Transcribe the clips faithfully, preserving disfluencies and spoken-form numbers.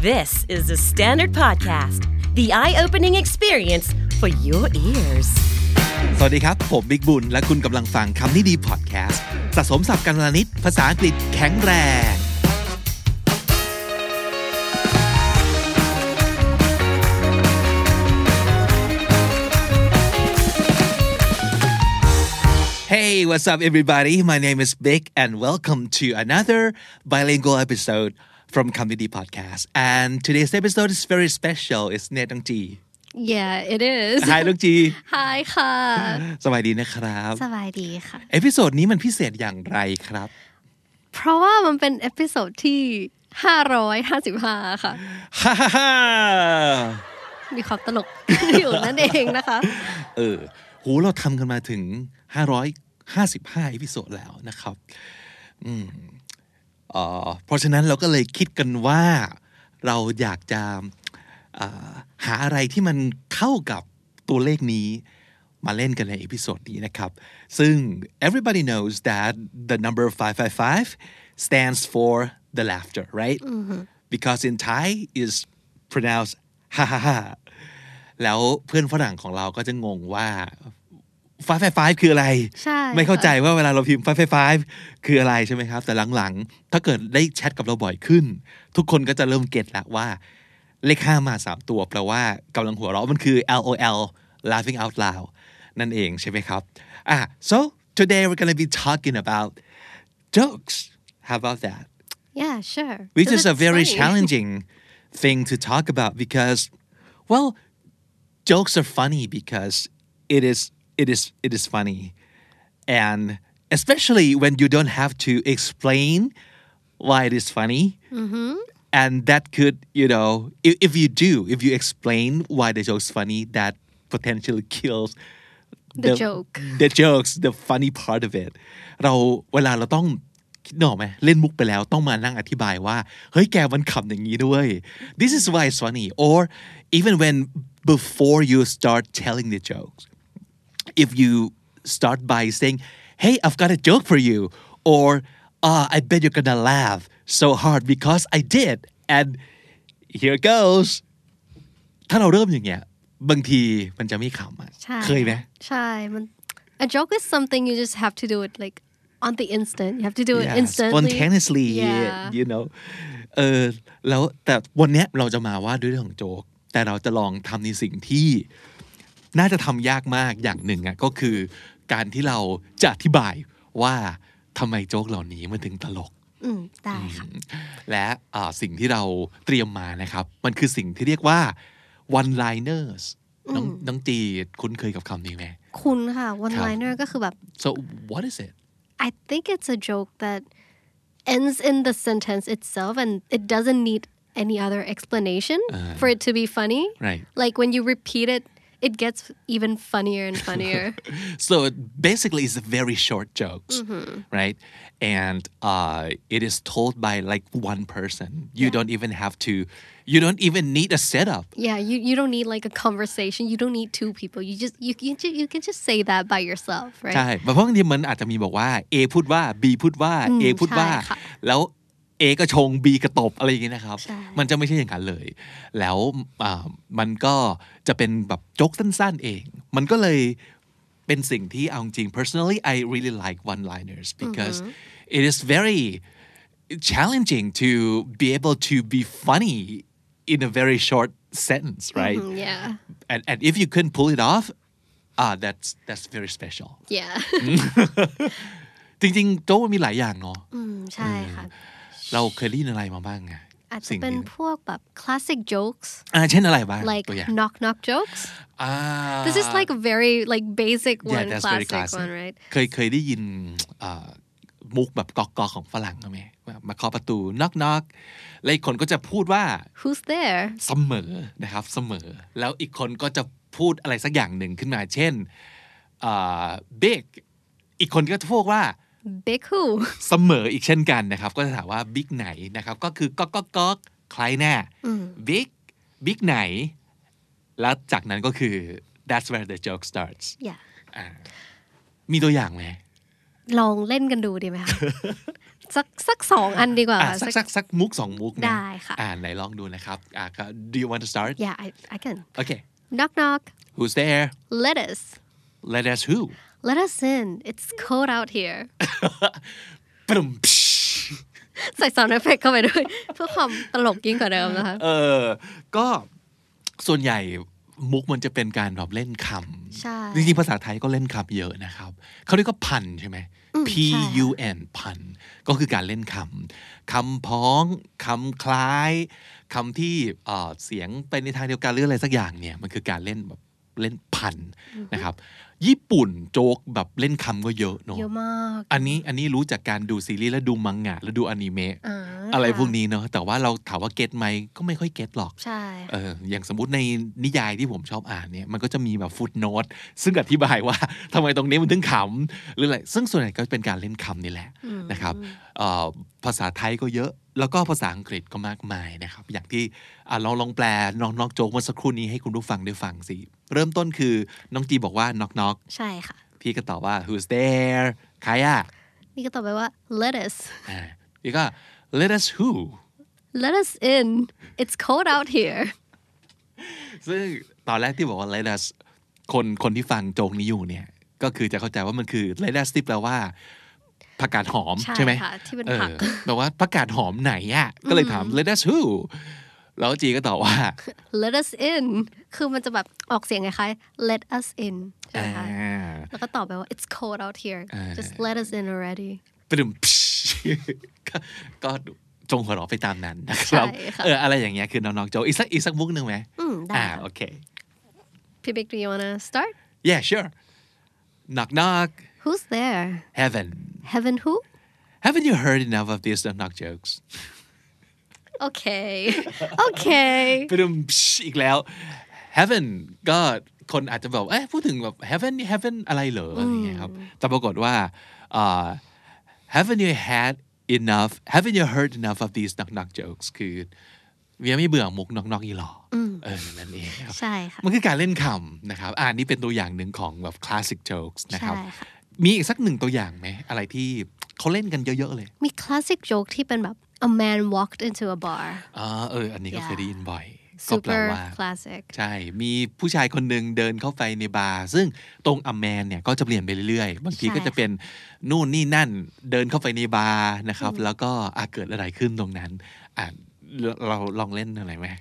This is the Standard Podcast, the eye-opening experience for your ears. สวัสดีครับผมบิ๊กบุญและคุณกำลังฟังคำนี้ดีพอดแคสต์สะสมศัพท์กันวลนิดภาษาอังกฤษแข็งแรง Hey, what's up everybody? My name is Vic and welcome to another bilingual episode from Comedy Podcast. And today's episode is very special, isn't it, Dong Ji? Yeah, it is. Hi, Dong Ji. Hi ค่ะสวัสดีนะครับสบายดีค่ะเอพิโซดนี้มันพิเศษอย่างไรครับเพราะว่ามันเป็นเอพิโซดที่ห้าร้อยห้าสิบห้าค่ะฮ่าฮ่าฮ่ามีความตลก อยู่นั่นเองนะคะเออโหเราทำกันมาถึงห้าร้อยห้าสิบห้าเอพิโซดแล้วนะครับอืมเอ่อเพราะฉะนั้นเราก็เลยคิดกันว่าเราอยากจะอ่าหาอะไรที่มันเข้ากับตัวเลขนี้มาเล่นกันในเอพิโซดนี้นะครับซึ่ง everybody knows that the number five five five stands for the laughter right mm-hmm. because in Thai is pronounced ha ha ha แล้วเพื่อนฝรั่งของเราก็จะงงว่าfive five five คืออะไรไม่เข้าใจว่าเวลาเราพิมพ์ five five five คืออะไรใช่ไหมครับแต่หลังๆถ้าเกิดได้แชทกับเราบ่อยขึ้นทุกคนก็จะเริ่มเก็ทแล้วว่าเลขห้ามาสามตัวแปลว่ากำลังหัวเราะมันคือ แอล โอ แอล laughing out loud นั่นเองใช่ไหมครับอ่ะ so today we're going to be talking about jokes how about that yeah sure which is a very funny. challenging thing to talk about because well jokes are funny because it is it is it is funny and especially when you don't have to explain why it is funny mm-hmm. and that could you know if, if you do if you explain why the joke's funny that potentially kills the, the joke the jokes the funny part of it เราเวลาเราต้องคิดหนอไหมเล่นมุกไปแล้วต้องมานั่งอธิบายว่าเฮ้ยแกมันขำอย่างนี้ด้วย this is why it's funny or even when before you start telling the jokes if you start by saying hey I've got a joke for you or uh, I bet you're gonna laugh so hard because I did and here goes ถ้าเราเริ่มอย่างเงี้ยบางทีมันจะไม่ขำอ่ะเคยไหมใช่มัน a joke is something you just have to do it like on the instant you have to do it yeah, instantly spontaneously yeah. you know เออแล้วแต่วันเนี้ยเราจะมาว่าด้วยเรื่องของโจ๊กแต่เราจะลองทำในสิ่งที่น่าจะทำยากมากอย่างหนึ่งอ่ะก็คือการที่เราจะอธิบายว่าทำไมโจ๊กเหล่านี้มันถึงตลกอืมได้ค่ะและสิ่งที่เราเตรียมมานะครับมันคือสิ่งที่เรียกว่า one liners น้องน้องจีคุ้นเคยกับคำนี้ไหมคุ้นค่ะ one liner ก็คือแบบ so what is it I think it's a joke that ends in the sentence itself and it doesn't need any other explanation uh, for it to be funny right like when you repeat it it gets even funnier and funnier so basically it's a very short jokes mm-hmm. right and uh, it is told by like one person you yeah. don't even have to you don't even need a setup yeah you you don't need like a conversation you don't need two people you just you can just, you can just say that by yourself right ใช่เพราะบางทีมันอาจจะมีบอกว่า A พูดว่า B พูดว่า A พูดว่าแล้วA ก็ชง B ก็ตบอะไรอย่างนี้นะครับมันจะไม่ใช่อย่างนั้นเลยแล้วมันก็จะเป็นแบบโจ๊กสั้นๆเองมันก็เลยเป็นสิ่งที่เอาจริง personally I really like one liners because mm-hmm. it is very challenging to be able to be funny in a very short sentence right mm-hmm, yeah and and if you couldn't pull it off ah that's that's very special yeah จริงๆโจ๊กมันมีหลายอย่างเนาะอืมใช่ค่ะเราเคยได้ยินอะไรมาบ้างไงอาจจะเป็นพวกแบบ classic jokes อ่าเช่นอะไรบ้าง like knock knock jokes อ่า this is like a very like basic yeah, one classic, classic one right เคยเคยได้ยินมุกแบบก๊อกๆของฝรั่งไหมมาเคาะประตู knock knock แล้วอีกคนก็จะพูดว่า who's there เสมอนะครับเสมอแล้วอีกคนก็จะพูดอะไรสักอย่างหนึ่งขึ้นมาเช่น big อีกคนก็จะพูดว่า big who เสมออีกเช่นกันนะครับก็จะถามว่า big ไหนนะครับก็คือก๊อกก๊อกก๊อกใครแน่ big big ไหนแล้วจากนั้นก็คือ that's where the joke starts yeah มีตัวอย่างไหมลองเล่นกันดูดีไหมคะสักสักสองอันดีกว่าอ่ะสักสักสักมุกสองมุกนะได้ค่ะอ่าไหนลองดูนะครับอ่า do you want to start yeah I I can okay knock knock who's there let us let us who let us in it's cold out here ปรึมใส่ซาวด์เอฟเฟคเข้าไปด้วยเพื่อความตลกยิ่งกว่าเดิมนะคะเออก็ส่วนใหญ่มุกมันจะเป็นการแบบเล่นคำใช่จริงๆภาษาไทยก็เล่นคำเยอะนะครับเขาเรียกว่าพันใช่ไหม P U N พันก็คือการเล่นคำคำพ้องคำคล้ายคำที่เอ่อเสียงไปในทางเดียวกันหรืออะไรสักอย่างเนี่ยมันคือการเล่นแบบเล่นพันนะครับญี่ปุ่นโจ๊กแบบเล่นคำก็เยอะเนาะเยอะมากอันนี้อันนี้รู้จากการดูซีรีส์แล้วดูมังงะแล้วดูอนิเมะอ่าอะไรพวกนี้เนาะแต่ว่าเราถามว่าเก็ตไหมก็ไม่ค่อยเก็ตหรอกใช่เอออย่างสมมุติในนิยายที่ผมชอบอ่านเนี่ยมันก็จะมีแบบฟุตโนตซึ่งอธิบายว่าทำไมตรงนี้มันถึงขำหรืออะไรซึ่งส่วนใหญ่ก็เป็นการเล่นคำนี่แหละนะครับภาษาไทยก็เยอะแล้วก็ภาษาอังกฤษก็มากมายนะครับอย่างที่เราลองแปลน้องนอกโจ๊กเมื่อสักครู่นี้ให้คุณผู้ฟังได้ฟังสิเริ่มต้นคือน้องจีบอกว่า knock knock ใช่ค่ะพี่ก็ตอบว่า who's there ใครอ่ะนี่ก็ตอบไปว่า let us อ่าพี่ก็ let us who let us in it's cold out here ซึ่งตอนแรกที่บอกว่า let us คนคนที่ฟังโจงนี้อยู่เนี่ยก็คือจะเข้าใจว่ามันคือ let us ที่แปลว่าผักกาดหอมใช่ไหมใช่ค่ะที่เป็นผักแปลว่าผักกาดหอมไหนอ่ะก็เลยถาม let us who แล้วจีก็ตอบว่า let us in คือมันจะแบบออกเสียงคล้ายๆ let us in ใช่ไหมคะแล้วก็ตอบไปว่า it's cold out here just let us in already ตึมก็จงหัวเราะไปตามนั้นนะครับเอออะไรอย่างเงี้ยคือน้องๆโจอีกสักอีกสักมุกนึงไหมอืมได้โอเคพี่บิ๊ก do you wanna start yeah sure knock knock who's there heaven heaven who haven't you heard enough of these knock knock jokes okay okay ไปดูอีกแล้ว heaven ก็คนอาจจะแบบเอ๊ะพูดถึงแบบ heaven heaven อะไรเหรออะไรเงี้ยครับแต่ปรากฏว่า uh, haven't you had enough haven't you heard enough of these knock knock jokes คือยังไม่เบื่อมุก knock knock อีหรอเออนั่นเองครับใช่ค่ะมันคือการเล่นคำนะครับอ่านี่เป็นตัวอย่างหนึ่งของแบบ classic jokes นะครับมีอีกสักหนึ่งตัวอย่างไหมอะไรที่เขาเล่นกันเยอะๆเลยมี classic joke ที่เป็นแบบ a man walked into a bar อ๋อเอออันนี้ก็เคยได้ยินบ่อยก็แปลว่า classic ใช่มีผู้ชายคนหนึ่งเดินเข้าไปในบาร์ซึ่งตรง a man เนี่ยก็จะเปลี่ยนไปเรื่อยๆบางทีก็จะเป็นนู่นนี่นั่นเดินเข้าไปในบาร์นะครับแล้วก็อาเกิดอะไรขึ้นตรงนั้นอ่ะเราลองเล่นอะไรไหม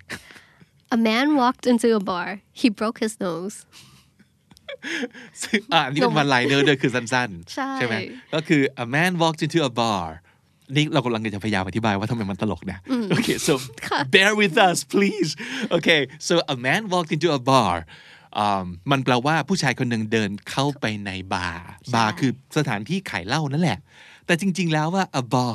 A man walked into a bar he broke his nose ซึ่งอ่ะนี่เป็นวันไลเนอร์ด้วยคือสั้นๆใช่ไหมก็คือ a man walked into a barนี่เรากำลังจะพยายามอธิบายว่าทำไมมันตลกนะ Okay so bear with us please Okay so a man walked into a bar มันแปลว่าผู้ชายคนหนึ่งเดินเข้าไปในบาร์บาร์คือสถานที่ขายเหล้านั่นแหละแต่จริงๆแล้วว่า a bar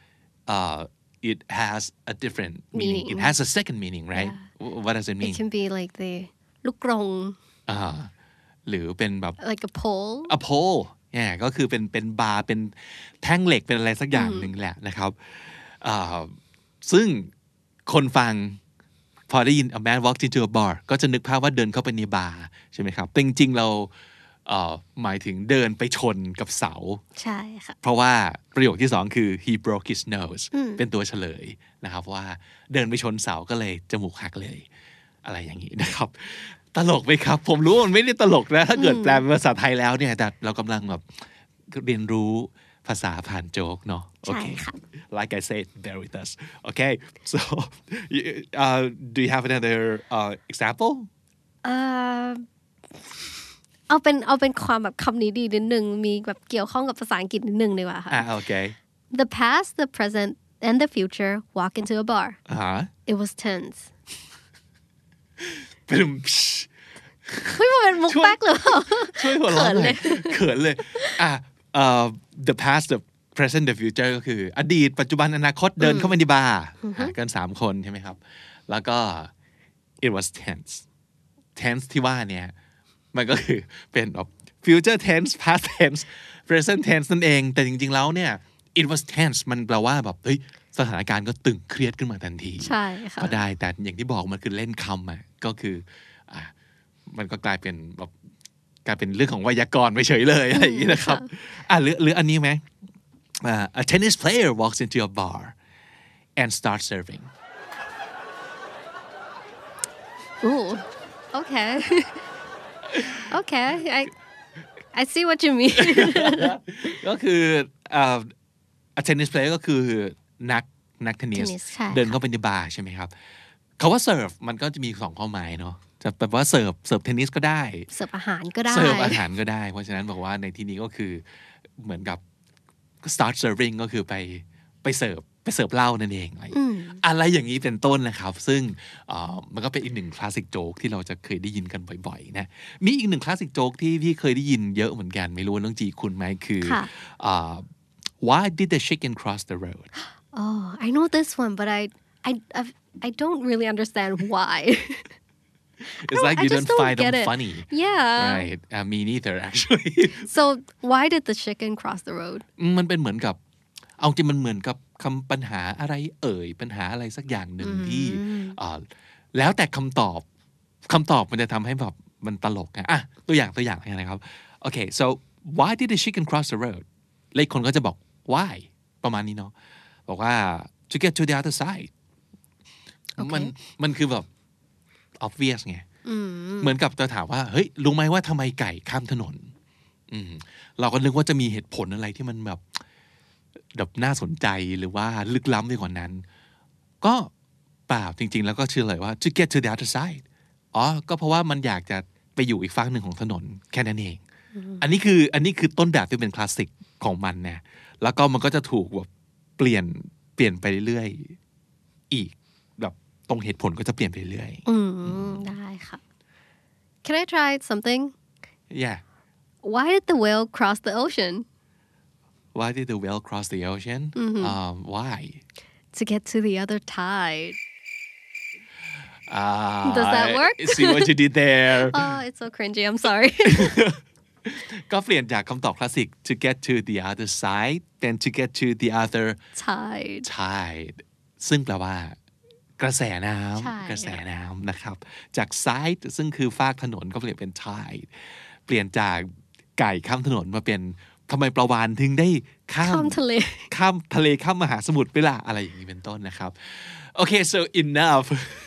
uh, it has a different meaning it has a second meaning right what does it mean it can be like the ลูกกรงอ่าหรือเป็นแบบ like a pole a poleเนี่ยก็คือเป็นเป็นบาร์เป็นแท่งเหล็กเป็นอะไรสักอย่างหนึ่งแหละนะครับซึ่งคนฟังพอได้ยิน a man walked into a bar ก็จะนึกภาพว่าเดินเข้าไปในบาร์ใช่ไหมครับแต่จริงๆเราหมายถึงเดินไปชนกับเสาใช่ค่ะเพราะว่าประโยคที่สองคือ he broke his nose เป็นตัวเฉลยนะครับว่าเดินไปชนเสาก็เลยจมูกหักเลยอะไรอย่างนี้นะครับตลกไหมครับผมรู้มันไม่ได้ตลกนะถ้าเกิดแปลเป็นภาษาไทยแล้วเนี่ยแต่เรากำลังแบบเรียนรู้ภาษาผ่านโจ๊กเนาะโอเค like I said bear with us okay so uh, do you have another uh, example เอ่อเอาเป็นเอาเป็นความแบบคำนี้ดีนิดนึงมีแบบเกี่ยวข้องกับภาษาอังกฤษนิดนึงดีกว่าค่ะอ่าโอเค The past the present and the future walk into a bar uh-huh. it was tense เป็นเฮ้ยมันเป็นมุกแป๊กหรือเปล่าช่วยหัวเราะเลยเขินเลยอ่ะ uh, the past the present the future ก็คืออดีตปัจจุบันอนาคตเดินเข้ามาในบาร์กันสามคนใช่ไหมครับแล้วก็ it was tense tense ที่ว่าเนี่ยมันก็คือเป็นแบบ future tense past tense present tense นั่นเองแต่จริงๆแล้วเนี่ย it was tense มันแปลว่าแบบเฮ้ยสถานการณ์ก็ตึงเครียดขึ้นมาทันทีใช่ค่ะก็ได้แต่อย่างที่บอกมันคือเล่นคำอ่ะก็คืออ่ะมันก็กลายเป็นแบบกลายเป็นเรื่องของไวยากรณ์ไปเฉยเลยอะไรอย่างนี้นะครับอ่ะหรือหรืออันนี้ไหม uh, a tennis player walks into a bar and starts serving Ooh, okay. Okay, I I see what you mean. ก็คือเอ่อ a tennis player ก็คือนักนักเทนนิส Tennis ใช่เดินเข้าไปในบาร์ใช่ไหมครับคาว่า serve มันก็จะมีสองความหมายเนาะจะแปลว่าเสิร์ฟเสิร์ฟเทนนิสก็ได้เสิร์ฟอาหารก็ได้เสิร์ฟอาหารก็ได้เพราะฉะนั้นบอกว่าในที่นี้ก็คือเหมือนกับ start serving ก็คือไปไปเสิร์ฟไปเสิร์ฟเหล้านั่นเองอะไรอะไรอย่างนี้เป็นต้นนะครับซึ่งมันก็เป็นอีกหนึ่งคลาสสิกโจ๊กที่เราจะเคยได้ยินกันบ่อยๆนะมีอีกหนึ่งคลาสสิกโจ๊กที่พี่เคยได้ยินเยอะเหมือนกันไม่รู้น้องจีคุณไหมคือ why did the chicken cross the road Oh I know this one but I I I don't really understand why It's like you don't, don't find them it. funny. Yeah. Right. Uh, me neither, actually. So why did the chicken cross the road? มันเป็นเหมือนกับเอาจริงมันเหมือนกับคำปัญหาอะไรเอ่ยปัญหาอะไรสักอย่างหนึ่งที่แล้วแต่คำตอบคำตอบมันจะทำให้แบบมันตลกนะอ่ะตัวอย่างตัวอย่างอะไรนะครับ Okay, so why did the chicken cross the road? เลขคนก็จะบอก why ประมาณนี้เนาะบอกว่า to get to the other side มันมันคือแบบobvious ไงเหมือนกับจะถามว่าเฮ้ยรู้ไหมว่าทำไมไก่ข้ามถนนเราก็นึกว่าจะมีเหตุผลอะไรที่มันแบบแบบน่าสนใจหรือว่าลึกล้ำไปกว่านั้นก็เปล่าจริงๆแล้วก็เชื่อเลยว่า to get to the other side อ๋อก็เพราะว่ามันอยากจะไปอยู่อีกฝั่งหนึ่งของถนนแค่นั้นเองอันนี้คืออันนี้คือต้นแบบที่เป็นคลาสสิกของมันนะแล้วก็มันก็จะถูกแบบเปลี่ยนเปลี่ยนไปเรื่อยๆอีกแบบตรงเหตุผลก็จะเปลี่ยนไปเรื่อยอืมได้ค่ะ Can I try something? Yeah. Why did the whale cross the ocean? Why did the whale cross the ocean? Mm-hmm. Um, why? To get to the other tide. Ah, Does that work? See what you did there. Oh, it's so cringy. I'm sorry. ก็เปลี่ยนจากคำตอบคลาสสิก to get to the other side then to get to the other tide tide ซึ่งแปลว่ากระแสน้ำกระแสน้ำนะครับจาก side ซึ่งคือฟากถนนก็เปลี่ยนเป็น tide เปลี่ยนจากไก่ข้ามถนนมาเป็นทำไมปลาวาฬถึงได้ข้ามทะเลข้ามทะเลข้ามมหาสมุทรไปล่ะอะไรอย่างนี้เป็นต้นนะครับ Okay so enough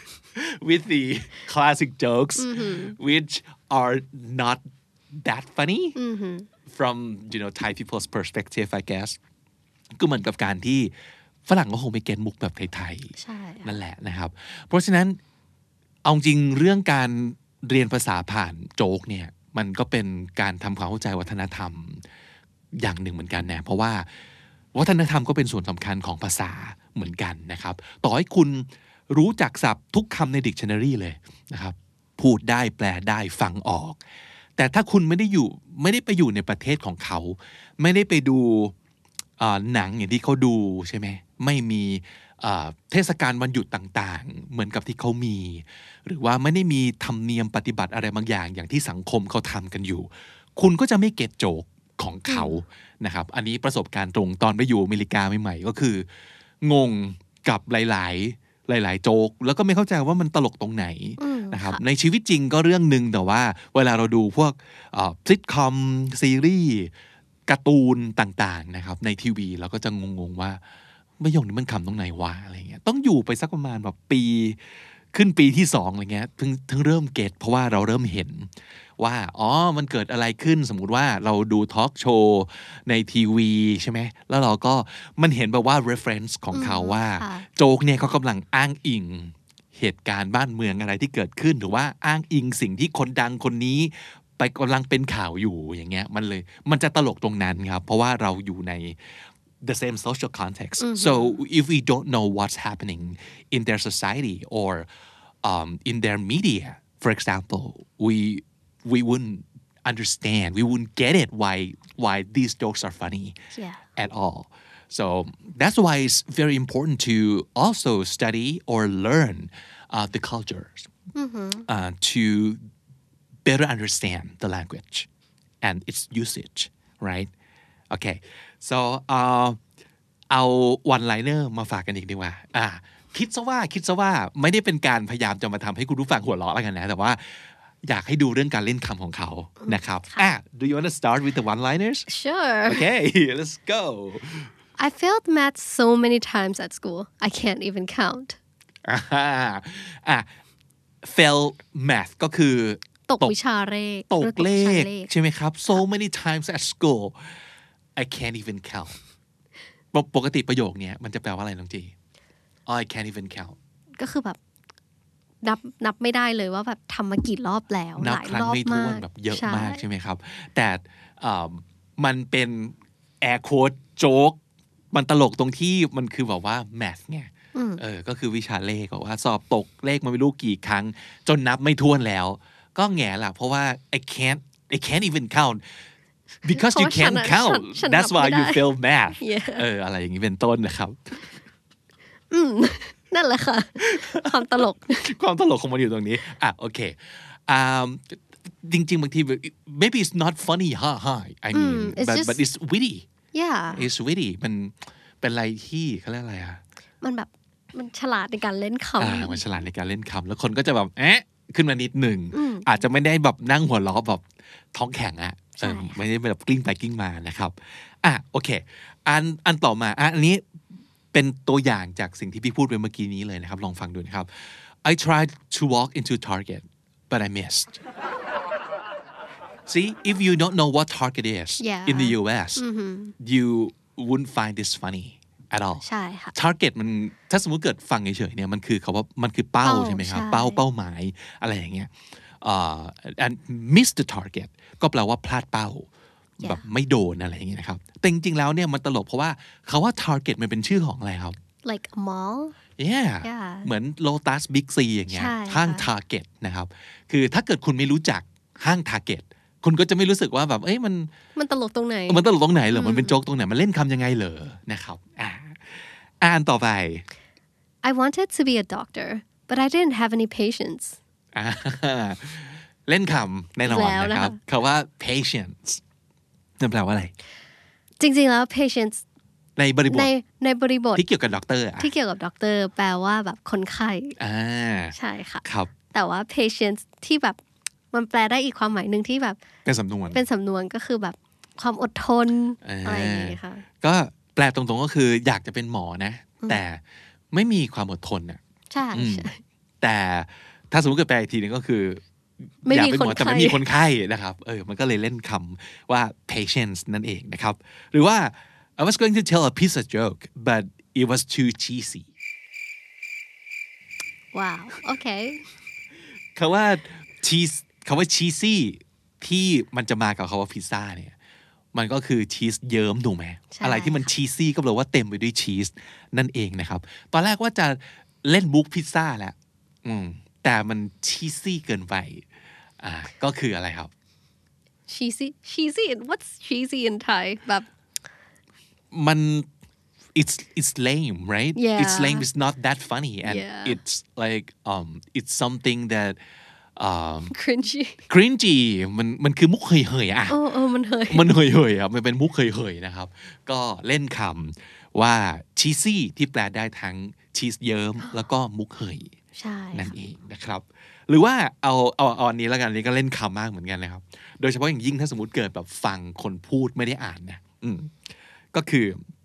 with the classic jokes mm-hmm. which are not that funny mm-hmm. from you know Thai people's perspective I guess ก็เหมือนกับการที่ฝรั่งก็คงไม่เก็ตมุกแบบไทยๆนั่นแหละนะครับเพราะฉะนั้นเอาจริงเรื่องการเรียนภาษาผ่านโจ๊กเนี่ยมันก็เป็นการทำความเข้าใจวัฒนธรรมอย่างหนึ่งเหมือนกันนะเพราะว่าวัฒนธรรมก็เป็นส่วนสำคัญของภาษาเหมือนกันนะครับต่อให้คุณรู้จักศัพท์ทุกคำใน dictionary เลยนะครับพูดได้แปลได้ฟังออกแต่ถ้าคุณไม่ได้อยู่ไม่ได้ไปอยู่ในประเทศของเขาไม่ได้ไปดูหนังอย่างที่เขาดูใช่ไหมไม่มีเทศกาลวันหยุดต่างๆเหมือนกับที่เขามีหรือว่าไม่ได้มีธรรมเนียมปฏิบัติอะไรบางอย่างอย่างที่สังคมเขาทำกันอยู่คุณก็จะไม่เก็ตโจกของเขานะครับอันนี้ประสบการณ์ตรงตอนไปอยู่อเมริกาใหม่ๆก็คืองงกับหลายๆหลายๆโจ๊กแล้วก็ไม่เข้าใจว่ามันตลกตรงไหนนะครับในชีวิตจริงก็เรื่องนึงแต่ว่าเวลาเราดูพวกซิทคอมซีรีส์การ์ตูนต่างๆนะครับในทีวีเราก็จะงงๆว่าประโยคนี้มันคำตรงไหนวะอะไรเงี้ยต้องอยู่ไปสักประมาณแบบปีขึ้นปีที่สองอะไรเงี้ยถึงถึงเริ่มเก็ตเพราะว่าเราเริ่มเห็นว่าอ๋อมันเกิดอะไรขึ้นสมมุติว่าเราดูทอล์กโชว์ในทีวีใช่ไหมแล้วเราก็มันเห็นแบบว่า reference ของเขาว่าโจ๊กเนี่ยเขากำลังอ้างอิงเหตุการณ์บ้านเมืองอะไรที่เกิดขึ้นหรือว่าอ้างอิงสิ่งที่คนดังคนนี้ไปกำลังเป็นข่าวอยู่อย่างเงี้ยมันเลยมันจะตลกตรงนั้นครับเพราะว่าเราอยู่ในthe same social context mm-hmm. so if we don't know what's happening in their society or um, in their media for example we we wouldn't understand we wouldn't get it why why these jokes are funny yeah. at all so that's why it's very important to also study or learn uh, the cultures mm-hmm. uh, to better understand the language and its usage right okay so เอา one liner มาฝากกันอีกดีกว่าอ่าคิดซะว่าคิดซะว่าไม่ได้เป็นการพยายามจะมาทำให้คุณผู้ฟังหัวเราะแล้วกันนะแต่ว่าอยากให้ดูเรื่องการเล่นคำของเขานะครับอ่ะ do you want to start with the one liners sure okay let's go I failed math so many times at school I can't even count อ่าอ่ะ fail math ก็คือตกวิชาเลขตกเลขใช่ไหมครับ so many times at school I can't even count ปกติประโยคนี้มันจะแปลว่าอะไรน้องจี I can't even count ก็คือแบบนับนับไม่ได้เลยว่าแบบทำมากี่รอบแล้วหลายรอบมากแบบเยอะมากใช่ไหมครับแต่มันเป็น air quote joke มันตลกตรงที่มันคือแบบว่า math ไงเออก็คือวิชาเลขบอกว่าสอบตกเลขมาไม่รู้กี่ครั้งจนนับไม่ถ้วนแล้วก็แง่ล่ะเพราะว่า I can't I can't even count because you can't count that's why you fail math เอออะไรอย่างนี้เป็นต้นนะครับอืมนั่นแหละค่ะความตลกความตลกของมันอยู่ตรงนี้อ่ะโอเคอ่าจริงๆบางที maybe it's not funny ha ha I mean it's but just, but it's witty yeah it's witty มันเป็นอะไรที่เขาเรียกอะไรอ่ะมันแบบมันฉลาดในการเล่นคำอ่ามันฉลาดในการเล่นคำแล้วคนก็จะแบบเอ๊ะขึ้นมานิดหนึ่งอาจจะไม่ได้แบบนั่งหัวเราะแบบท้องแข็งอ่ะไม่ได้แบบกลิ้งไปกลิ้งมานะครับอ่ะโอเคอันอันต่อมาอ่ะอันนี้เป็นตัวอย่างจากสิ่งที่พี่พูดไปเมื่อกี้นี้เลยนะครับลองฟังดูนะครับ I tried to walk into Target but I missed see if you don't know what Target is yeah. in the ยู เอส mm-hmm. you wouldn't find this funny at all ใช่ค่ะ Target มันถ้าสมมุติเกิดฟังเฉยๆเนี่ยมันคือเขาว่ามันคือเป้าใช่ไหมครับเป้าเป้าหมายอะไรอย่างเงี้ย uh, and miss the target ก็แปลว่าพลาดเป้าแบบไม่โดนอะไรอย่างเงี้ยนะครับแต่จริงๆแล้วเนี่ยมันตลกเพราะว่าเขาว่า Target มันเป็นชื่อของอะไรครับ like a mall yeah, yeah. เหมือน Lotus Big C อย่างเงี้ยห้าง Target นะครับคือถ้าเกิดคุณไม่รู้จักห้าง Target คุณก็จะไม่รู้สึกว่าแบบเอ้ยมันมันตลกตรงไหนมันตลกตรงไหนเหรอมันเป็นโจ๊กตรงไหนมันเล่นคำยังไงเหรอนะครับอ่าอ่านต่อไป I wanted to be a doctor but I didn't have any patience เล่นคำแน่นอนนะครับคำว่า patience นั่นแปลว่าอะไรจริงๆแล้ว patience ในบริบทในในบริบทที่เกี่ยวกับด็อกเตอร์ที่เกี่ยวกับด็อกเตอร์แปลว่าแบบคนไข้อ่าใช่ค่ะครับแต่ว่า patience ที่แบบมันแปลได้อีกความหมายหนึ่งที่แบบเป็นสำนวนเป็นสำนวนก็คือแบบความอดทนอะไรอย่างเงี้ยค่ะก็แปลตรงๆก็คืออยากจะเป็นหมอนะแต่ไม่มีความอดทนอ่ะใช่แต่ถ้าสมมติเกิดแปลอีกทีนึงก็คืออยากเป็นหมอแต่ไม่มีคนไข้นะครับเออมันก็เลยเล่นคำว่า patience นั่นเองนะครับหรือว่า I was going to tell a piece of joke but it was too cheesy ว้าวโอเคคำว่า cheese คำว่า cheesy ที่มันจะมากับคำว่าพิซซ่าเนี่ยมันก็คือชีสเยิ้มถูกไหมอะไรที่มันชีซี่ก็แปลว่าเต็มไปด้วยชีสนั่นเองนะครับตอนแรกว่าจะเล่นบุ๊กพิซซ่าแหละอืมแต่มันชีซี่เกินไปอ่าก็คืออะไรครับ cheesy cheesy what's cheesy in Thai แบบมัน it's it's lame right yeah. it's lame it's not that funny and yeah. it's like um it's something that um cringy cringy มันมันคือมุกเฮยๆอ่ะโอ้โอ้มันเฮยมันเฮยๆอ่ะมันเป็นมุกเฮยๆนะครับก็เล่นคำว่า cheesy ที่แปลได้ทั้งชีสเยิ้มแล้วก็มุกเฮยใช่นั่นเองนะครับหรือว่าเอาเอาเอาอันนี้แล้วกันนี้ก็เล่นคำมากเหมือนกันนะครับโดยเฉพาะอย่างยิ่งถ้าสมมติเกิดแบบฟังคนพูดไม่ได้อ่านนะอืมก็คือ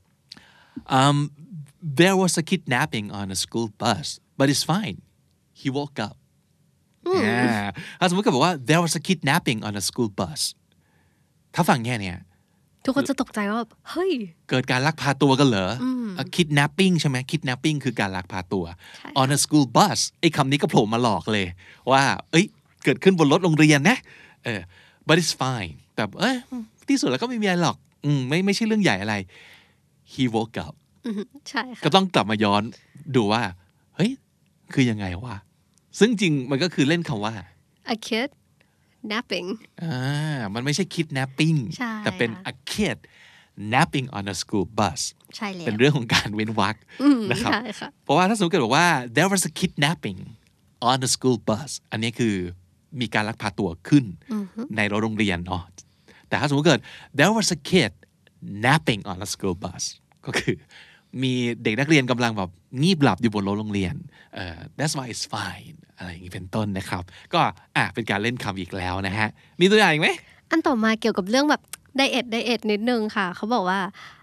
um there was a kidnapping on a school bus but it's fine he woke up ถ้าสมมติก็บอกว่า there was a kidnapping on a school bus ถ้าฟังแค่เนี้ยทุกคนจะตกใจว่าเฮ้ยเกิดการลักพาตัวกันเหรอ kidnapping ใช่ไหม kidnapping คือการลักพาตัว on a school bus ไอ้คำนี้ก็โผล่มาหลอกเลยว่าเอ้ยเกิดขึ้นบนรถโรงเรียนนะเออ but it's fine แต่เอ้ยที่สุดแล้วก็ไม่มีอะไรหรอกอืมไม่ไม่ใช่เรื่องใหญ่อะไร he woke up ใช่ค่ะก็ต้องกลับมาย้อนดูว่าเฮ้ยคือยังไงวะซึ่งจริงมันก็คือเล่นคำว่า a kid napping อ่ามันไม่ใช่ kidnapping แต่เป็น a kid napping on a school bus ใช่แล้วเป็นเรื่องของการเว้นวรรคนะครับเพราะว่าถ้าสมมติเกิดบอกว่า there was a kidnapping on a school bus อันนี้คือมีการลักพาตัวขึ้นในรถโรงเรียนเนาะแต่ถ้าสมมติเกิด there was a kid napping on a school bus ก็คือมีเด็กนักเรียนกำลังแบบงีบหลับอยู่บนรถโรงเรียนเอ่อ that's why it's fine อะไรอย่างนี้เป็นต้นนะครับก็อ่ะเป็นการเล่นคำอีกแล้วนะฮะมีตัวอย่างอีกไหมอันต่อมาเกี่ยวกับเรื่องแบบไดเอทไดเอทนิดนึงค่ะเขาบอกว่า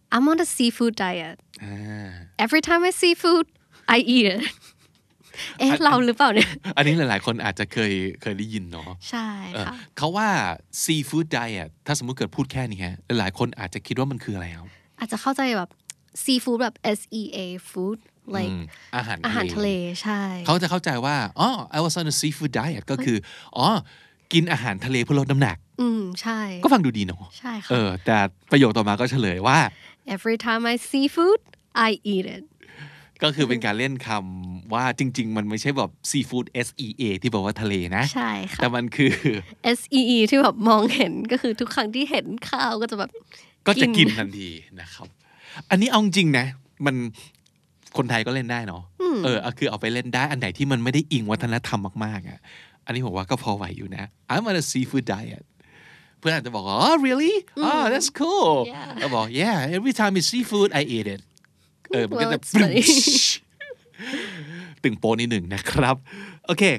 I'm on a seafood diet อ่า every time I see food I eat it เอ๊ะเราหรือเปล่าเนี่ยอันนี้หลายๆคนอาจจะเคยเคยได้ยินเนาะใช่ค่ะเขาว่า seafood diet ถ้าสมมุติเกิดพูดแค่นี้ฮะหลายๆคนอาจจะคิดว่ามันคืออะไรครับอาจจะเข้าใจแบบ seafood แบบ S E A food like อาหารอาหารทะเลใช่เขาจะเข้าใจว่าอ๋อ I was on a seafood diet ก็คืออ๋อกินอาหารทะเลเพื่อลดน้ำหนักอืมใช่ก็ฟังดูดีเนาะใช่ค่ะเออแต่ประโยคต่อมาก็เฉลยว่า every time I see food I eat it ก็คือเป็นการเล่นคำว่าจริงๆมันไม่ใช่แบบ seafood S E A ที่บอกว่าทะเลนะใช่ค่ะแต่มันคือ S E E ที่แบบมองเห็นก็คือทุกครั้งที่เห็นข้าวก็จะแบบก็จะกินทันทีนะครับอันนี้เอาจริงนะมันคนไทยก็เล่นได้เนาะเออคือเอาไปเล่นได้อันไหนที่มันไม่ได้อิงวัฒนธรรมมากๆอ่ะอันนี้ผมว่าก็พอไหวอยู่นะ I'm on a seafood diet เพื่อนอาจจะบอกว่า oh really oh that's cool แล้วบอก yeah every time it's seafood I eat it เออมันก็จะตึงโปนิดหนึ่งนะครับโอเค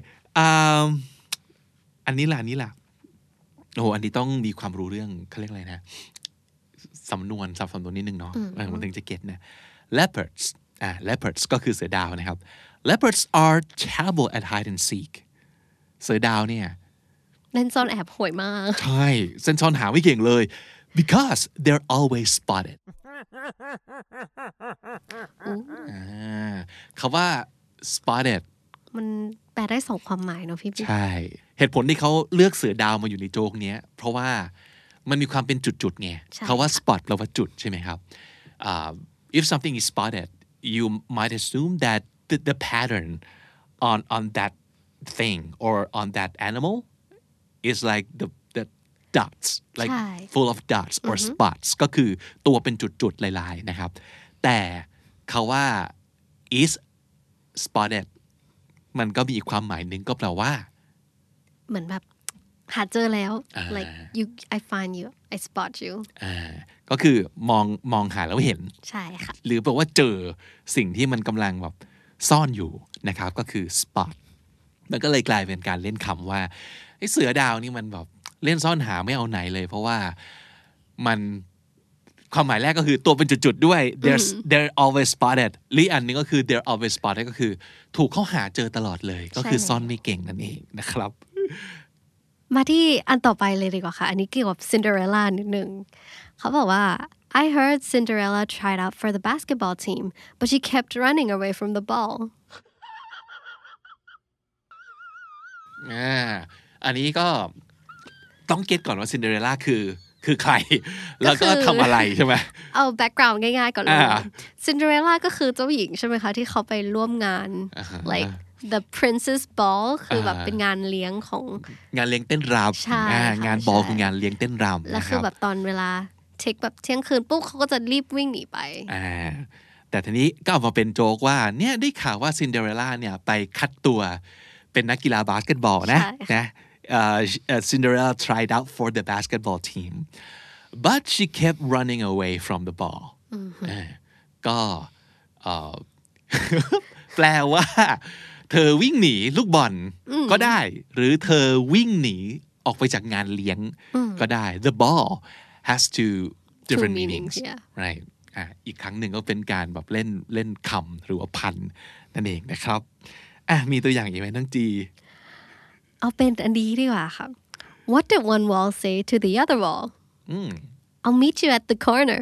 อันนี้ล่ะอันนี้ล่ะโอ้อันนี้ต้องมีความรู้เรื่องเขาเรียกอะไรนะสำนวนสับสนตัวนิดนึงเนาะมันถึงจะเก็ตนะ leopards อ่า leopards ก็คือเสือดาวนะครับ leopards are terrible at hide and seek เสือดาวเนี่ยเล่นซ่อนแอบห่วยมากใช่เส้นซ่อนหาไม่เก่งเลย because they're always spotted อ่าคำว่า spotted มันแปลได้สองความหมายเนาะพี่ใช่เหตุผลที่เขาเลือกเสือดาวมาอยู่ในโจ๊กเนี้ยเพราะว่ามันมีความเป็นจุดๆไงเขาว่า spot แปลว่าจุดใช่ไหมครับ uh, if something is spotted you might assume that the, the pattern on on that thing or on that animal is like the the dots like full of dots or spots ก็คือตัวเป็นจุดๆลายๆนะครับแต่เขาว่า is spotted มันก็มีอีกความหมายหนึ่งก็แปลว่าเหมือนแบบหาเจอแล้ว like you I find you I spot you อ่าก็คือมองมองหาแล้วเห็นใช่ค่ะหรือแปลว่าเจอสิ่งที่มันกำลังแบบซ่อนอยู่นะครับก็คือ spot มันก็เลยกลายเป็นการเล่นคำว่าไอ้เสือดาวนี่มันแบบเล่นซ่อนหาไม่เอาไหนเลยเพราะว่ามันความหมายแรกก็คือตัวเป็นจุดๆด้วย they're they're always spotted หรืออันนึงก็คือ they're always spotted ก็คือถูกเขาหาเจอตลอดเลยก็คือซ่อนไม่เก่งนั่นเองนะครับมาที่อันต่อไปเลยดีกว่าค่ะอันนี้เกี่ยวกับ Cinderella นิดนึงเขาบอกว่า I heard Cinderella tried out for the basketball team but she kept running away from the ball อ่าอันนี้ก็ต้องเก็ตก่อนว่า Cinderella คือคือใครแล้วก็ทำอะไรใช่ไหมเอา background ง่ายๆก่อนเลย Cinderella ก็คือเจ้าหญิงใช่ไหมคะที่เขาไปร่วมงาน like the princess ball คือแบบเป็นงานเลี้ยงของงานเลี้ยงเต้นรำงานบอลคืองานเลี้ยงเต้นรำแล้วคือแบบตอนเวลาเทคแบบเที่ยงคืนปุ๊บเขาก็จะรีบวิ่งหนีไปแต่ทีนี้ก็ออกมาเป็นโจ๊กว่าเนี่ยได้ข่าวว่า Cinderella เนี่ยไปคัดตัวเป็นนักกีฬาบาสเกตบอลนะนะ Uh, Cinderella tried out for the basketball team but she kept running away from the ball ก็แปลว่าเธอวิ่งหนีลูกบอลก็ได้หรือเธอวิ่งหนีออกไปจากงานเลี้ยงก็ได้ the ball has two different meanings right อ่ะอีกครั้งหนึ่งก็เป็นการแบบเล่นเล่นคำหรือว่าพันนั่นเองนะครับอ่ะมีตัวอย่างอีกไหมน้องจีเอาเป็นอันนี้ดีกว่าค่ะ What did one wall say to the other wall I'll meet you at the corner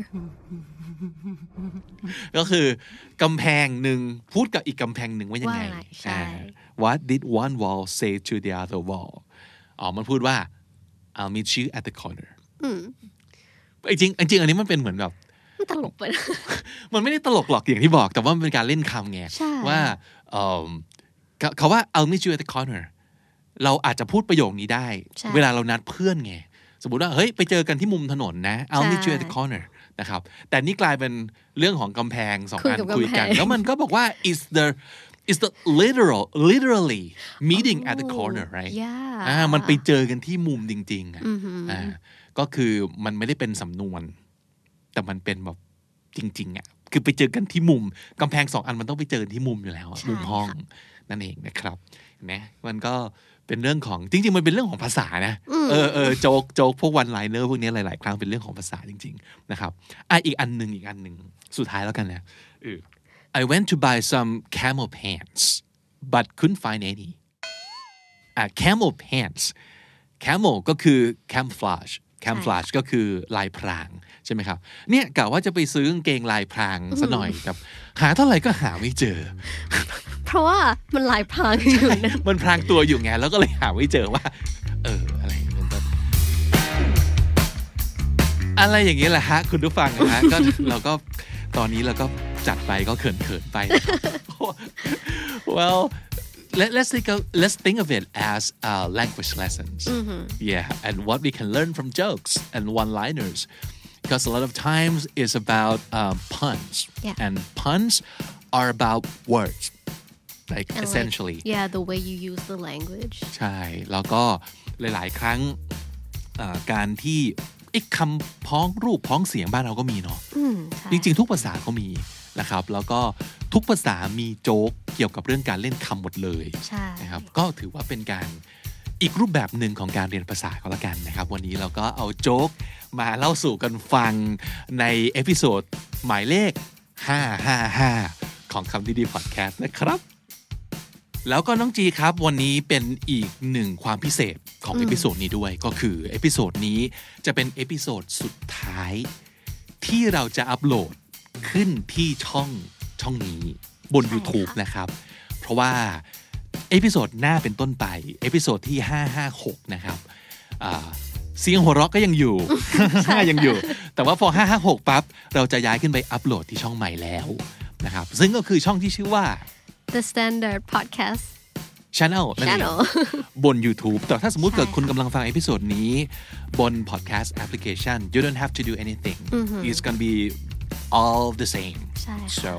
ก็คือกำแพงหนึ่งพูดกับอีกกำแพงหนึ่งว่ายังไง What did one wall say to the other wall อ๋อมันพูดว่า I'll meet you at the corner จริงจริงอันนี้มันเป็นเหมือนแบบมันตลกไปมันไม่ได้ตลกหรอกอย่างที่บอกแต่ว่ามันเป็นการเล่นคำไงว่าเขาว่า I'll meet you at the cornerเราอาจจะพูดประโยคนี้ได้เวลาเรานัดเพื่อนไงสมมุติว่าเฮ้ยไปเจอกันที่มุมถนนนะ I'll meet you at the corner นะครับแต่นี่กลายเป็นเรื่องของกำแพงสองอันคุยกันแล้วมันก็บอกว่า is the is the literal literally meeting at the corner right อ่ามันไปเจอกันที่มุมจริงๆอ่าก็คือมันไม่ได้เป็นสำนวนแต่มันเป็นแบบจริงๆอ่ะคืคือไปเจอกันที่มุมกำแพงสองอันมันต้องไปเจอที่มุมอยู่แล้วมุมห้องนั่นเองนะครับเห็นไหมมันก็เป็นเรื่องของจริงๆมันเป็นเรื่องของภาษานะเออเออโจ๊กโจ๊กพวกวันไลเนอร์พวกนี้หลายๆครั้งเป็นเรื่องของภาษาจริงๆนะครับอ่ะอีกอันนึงอีกอันนึงสุดท้ายแล้วกันนะเออ I went to buy some camel pants but couldn't find any อ่ะ camel pants camel ก็คือ camouflage camouflage ก็คือลายพรางใช่ไหมครับเนี่ยกะว่าจะไปซื้อกางเกงลายพรางซะหน่อยแต่หาเท่าไหร่ก็หาไม่เจอเพราะว่ามันลายพรางอยู่นะมันพรางตัวอยู่ไงแล้วก็เลยหาไม่เจอว่าเอออะไรมันก็อะไรอย่างนี้แหละฮะคุณผู้ฟังนะฮะก็เราก็ตอนนี้เราก็จัดไปก็เขินๆไป well Let, let's think of let's think of it as uh, language lessons. Mm-hmm. Yeah, and what we can learn from jokes and one-liners, because a lot of times it's about um, puns, yeah. and puns are about words, like and essentially. Like, yeah, the way you use the language. ใช่แล้วก็หลายๆครั้งการที่ไอ้คำพ้องรูปพ้องเสียงบ้านเราก็มีเนาะจริงๆทุกภาษาเขามีนะครับแล้วก็ทุกภาษามีโจ๊กเกี่ยวกับเรื่องการเล่นคำหมดเลยนะครับก็ถือว่าเป็นการอีกรูปแบบหนึ่งของการเรียนภาษาก็แล้วกันนะครับวันนี้เราก็เอาโจ๊กมาเล่าสู่กันฟังในเอพิโซดหมายเลขห้าร้อยห้าสิบห้าของคำดีๆพอดแคสต์นะครับแล้วก็น้องจีครับวันนี้เป็นอีกหนึ่งความพิเศษของเอพิโซดนี้ด้วยก็คือเอพิโซดนี้จะเป็นเอพิโซดสุดท้ายที่เราจะอัปโหลดขึ้นที่ช่องช่องนี้บน YouTube นะครับเพราะว่าเอพิโซดหน้าเป็นต้นไปเอพิโซดที่ห้าร้อยห้าสิบหกนะครับเสียงหัวเราะก็ยังอยู่ ยังอยู่แต่ว่าพอห้าร้อยห้าสิบหกปั๊บเราจะย้ายขึ้นไปอัปโหลดที่ช่องใหม่แล้วนะครับซึ่งก็คือช่องที่ชื่อว่า The Standard Podcast Channel นั่นเองบน YouTube แต่ถ้าสมมุติเกิดคุณกำลังฟังเอพิโซดนี้บน Podcast Application you don't have to do anything mm-hmm. it's gonna be all the same so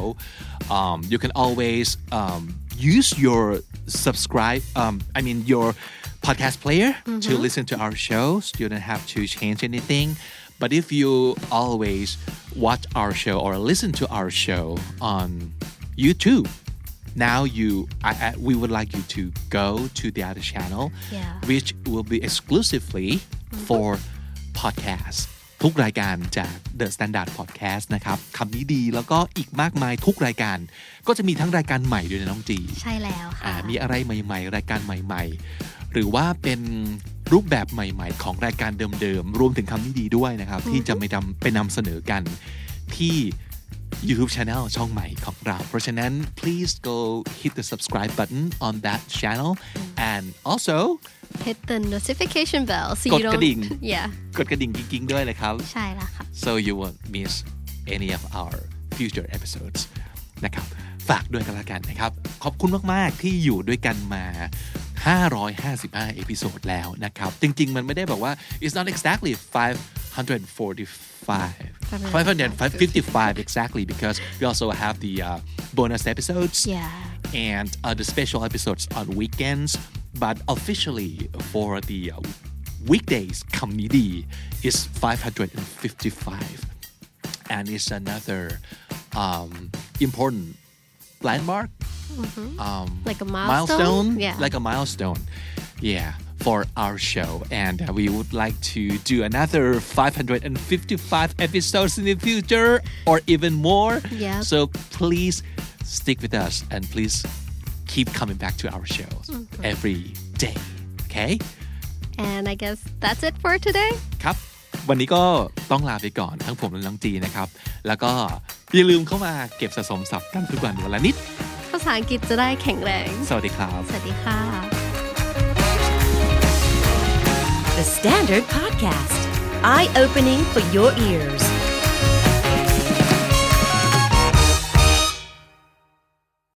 um, you can always um, use your subscribe um, I mean your podcast player mm-hmm. to listen to our shows you don't have to change anything but if you always watch our show or listen to our show on YouTube now you I, I, we would like you to go to the other channel yeah. which will be exclusively mm-hmm. for podcasts ทุกรายการจาก The Standard Podcast นะครับคำนี้ดีแล้วก็อีกมากมายทุกรายการก็จะมีทั้งรายการใหม่ด้วยนะน้องจีใช่แล้วค่ะมีอะไรใหม่ๆรายการใหม่ๆหรือว่าเป็นรูปแบบใหม่ๆของรายการเดิมๆรวมถึงคำนี้ดีด้วยนะครับ mm-hmm. ที่จะไปนำไปนำเสนอกันที่YouTube channel ช่องใหม่ของเราเพราะฉะนั้น please go hit the subscribe button on that channel and also hit the notification bell so ก you ด don't กระดิ่ง yeah กดกระดิ่งกิ๊งๆด้วยเลยครับใช่แล้วค่ะ so you won't miss any of our future episodes นะครับฝากด้วยกันละกันนะครับขอบคุณมากๆที่อยู่ด้วยกันมาห้าร้อยห้าสิบห้าเอพิโซดแล้วนะครับจริงๆมันไม่ได้บอกว่า it's not exactly five hundred forty-five five hundred fifty-five exactly because we also have the uh, bonus episodes yeah. and uh, the special episodes on weekends but officially for the uh, weekdays คำนี้ดี is five hundred fifty-five and it's another um, important landmark mm-hmm. um, like a milestone, milestone? Yeah. like a milestone yeah for our show and uh, we would like to do another five hundred fifty-five episodes in the future or even more yeah. so please stick with us and please keep coming back to our shows mm-hmm. every day okay and I guess that's it for today ครับวันนี้ก็ต้องลาไปก่อนทั้งผมและน้องจีนะครับแล้วก็อย่าลืมเข้ามาเก็บสะสมศัพท์กันทุกวันวันละนิดภาษาอังกฤษจะได้แข็งแรงสวัสดีครับสวัสดีค่ะ The Standard Podcast Eye-opening for your ears